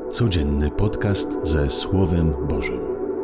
Codzienny podcast ze Słowem Bożym.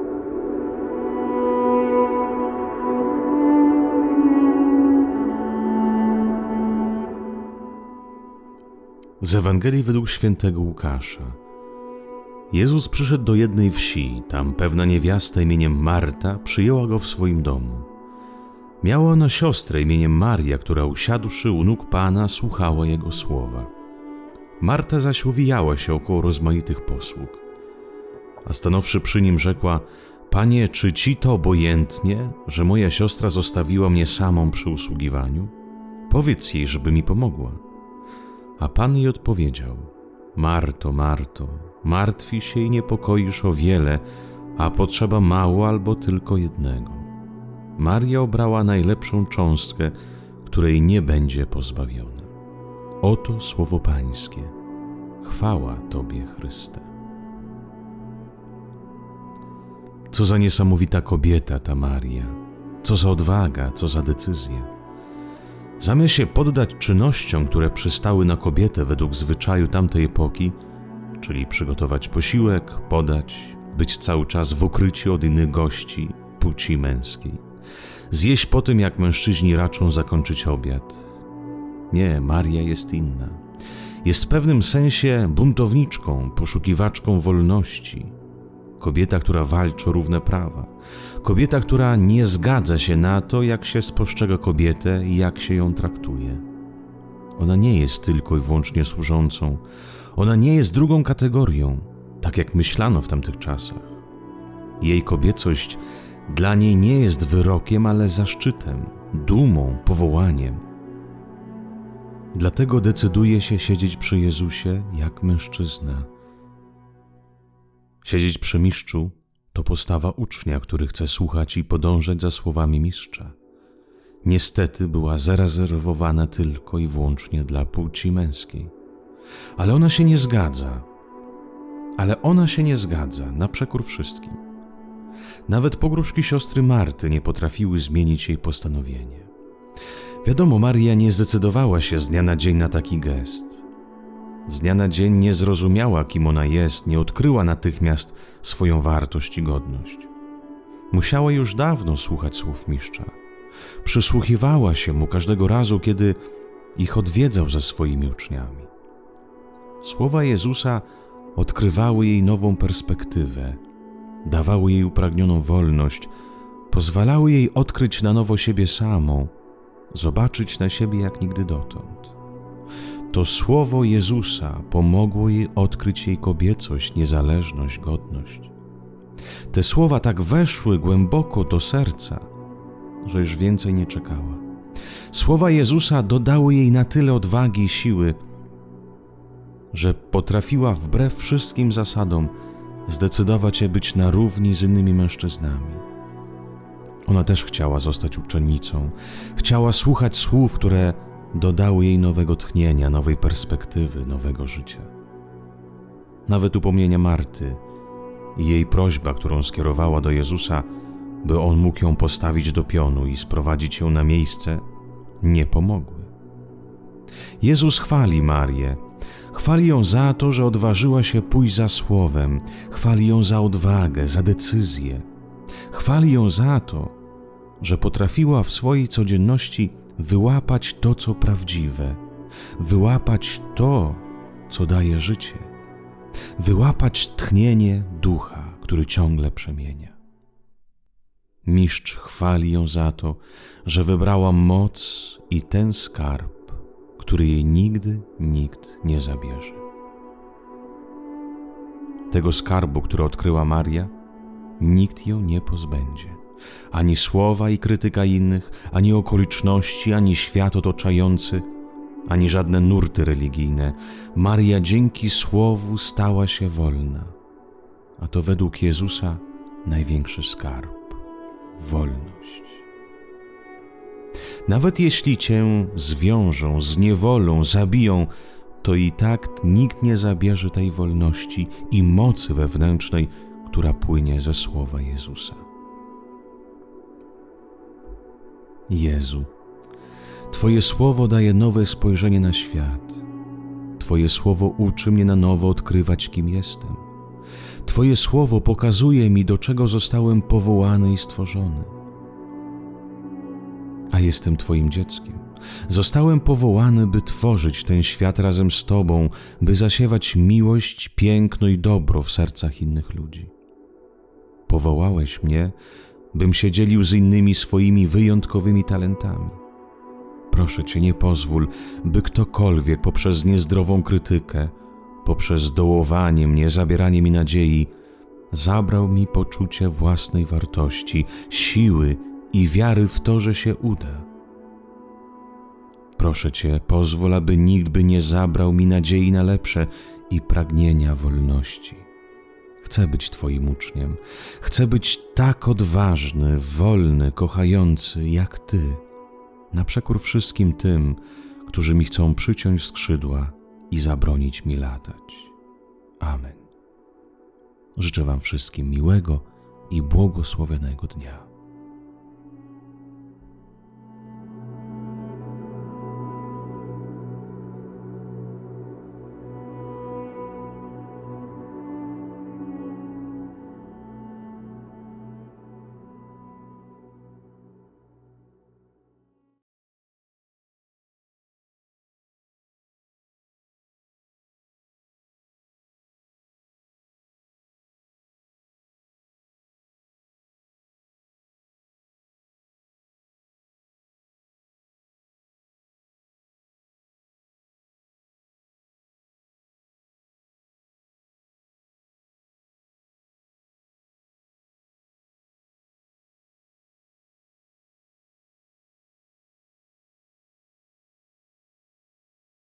Z Ewangelii według świętego Łukasza. Jezus przyszedł do jednej wsi, tam pewna niewiasta imieniem Marta przyjęła go w swoim domu. Miała ona siostrę imieniem Maria, która usiadłszy u nóg Pana słuchała Jego słowa. Marta zaś uwijała się około rozmaitych posług. A stanowszy przy nim rzekła: Panie, czy Ci to obojętnie, że moja siostra zostawiła mnie samą przy usługiwaniu? Powiedz jej, żeby mi pomogła. A Pan jej odpowiedział: Marto, Marto, martwi się i niepokoisz o wiele, a potrzeba mało albo tylko jednego. Maria obrała najlepszą cząstkę, której nie będzie pozbawiona. Oto słowo Pańskie. Chwała Tobie, Chryste. Co za niesamowita kobieta ta Maria. Co za odwaga, co za decyzja. Zamiast się poddać czynnościom, które przystały na kobietę według zwyczaju tamtej epoki, czyli przygotować posiłek, podać, być cały czas w ukryciu od innych gości płci męskiej, zjeść po tym, jak mężczyźni raczą zakończyć obiad. Nie, Maria jest inna. Jest w pewnym sensie buntowniczką, poszukiwaczką wolności. Kobieta, która walczy o równe prawa. Kobieta, która nie zgadza się na to, jak się spostrzega kobietę i jak się ją traktuje. Ona nie jest tylko i wyłącznie służącą. Ona nie jest drugą kategorią, tak jak myślano w tamtych czasach. Jej kobiecość dla niej nie jest wyrokiem, ale zaszczytem, dumą, powołaniem. Dlatego decyduje się siedzieć przy Jezusie jak mężczyzna. Siedzieć przy mistrzu to postawa ucznia, który chce słuchać i podążać za słowami mistrza. Niestety była zarezerwowana tylko i wyłącznie dla płci męskiej. Ale ona się nie zgadza na przekór wszystkim. Nawet pogróżki siostry Marty nie potrafiły zmienić jej postanowienie. Wiadomo, Maria nie zdecydowała się z dnia na dzień na taki gest. Z dnia na dzień nie zrozumiała, kim ona jest, nie odkryła natychmiast swoją wartość i godność. Musiała już dawno słuchać słów mistrza. Przysłuchiwała się mu każdego razu, kiedy ich odwiedzał ze swoimi uczniami. Słowa Jezusa odkrywały jej nową perspektywę, dawały jej upragnioną wolność, pozwalały jej odkryć na nowo siebie samą, zobaczyć na siebie jak nigdy dotąd. To słowo Jezusa pomogło jej odkryć jej kobiecość, niezależność, godność. Te słowa tak weszły głęboko do serca, że już więcej nie czekała. Słowa Jezusa dodały jej na tyle odwagi i siły, że potrafiła wbrew wszystkim zasadom zdecydować się być na równi z innymi mężczyznami. Ona też chciała zostać uczennicą, chciała słuchać słów, które dodały jej nowego tchnienia, nowej perspektywy, nowego życia. Nawet upomnienia Marty i jej prośba, którą skierowała do Jezusa, by On mógł ją postawić do pionu i sprowadzić ją na miejsce, nie pomogły. Jezus chwali Marię, chwali ją za to, że odważyła się pójść za słowem, chwali ją za odwagę, za decyzję. Chwali ją za to, że potrafiła w swojej codzienności wyłapać to, co prawdziwe, wyłapać to, co daje życie, wyłapać tchnienie ducha, który ciągle przemienia. Mistrz chwali ją za to, że wybrała moc i ten skarb, który jej nigdy nikt nie zabierze. Tego skarbu, który odkryła Maria, nikt ją nie pozbędzie. Ani słowa i krytyka innych, ani okoliczności, ani świat otaczający, ani żadne nurty religijne. Maria dzięki słowu stała się wolna. A to według Jezusa największy skarb – wolność. Nawet jeśli cię zwiążą, zniewolą, zabiją, to i tak nikt nie zabierze tej wolności i mocy wewnętrznej, która płynie ze słowa Jezusa. Jezu, Twoje słowo daje nowe spojrzenie na świat. Twoje słowo uczy mnie na nowo odkrywać, kim jestem. Twoje słowo pokazuje mi, do czego zostałem powołany i stworzony. A jestem Twoim dzieckiem. Zostałem powołany, by tworzyć ten świat razem z Tobą, by zasiewać miłość, piękno i dobro w sercach innych ludzi. Powołałeś mnie, bym się dzielił z innymi swoimi wyjątkowymi talentami. Proszę Cię, nie pozwól, by ktokolwiek poprzez niezdrową krytykę, poprzez dołowanie mnie, zabieranie mi nadziei, zabrał mi poczucie własnej wartości, siły i wiary w to, że się uda. Proszę Cię, pozwól, aby nikt by nie zabrał mi nadziei na lepsze i pragnienia wolności. Chcę być Twoim uczniem. Chcę być tak odważny, wolny, kochający jak Ty, na przekór wszystkim tym, którzy mi chcą przyciąć skrzydła i zabronić mi latać. Amen. Życzę Wam wszystkim miłego i błogosławionego dnia.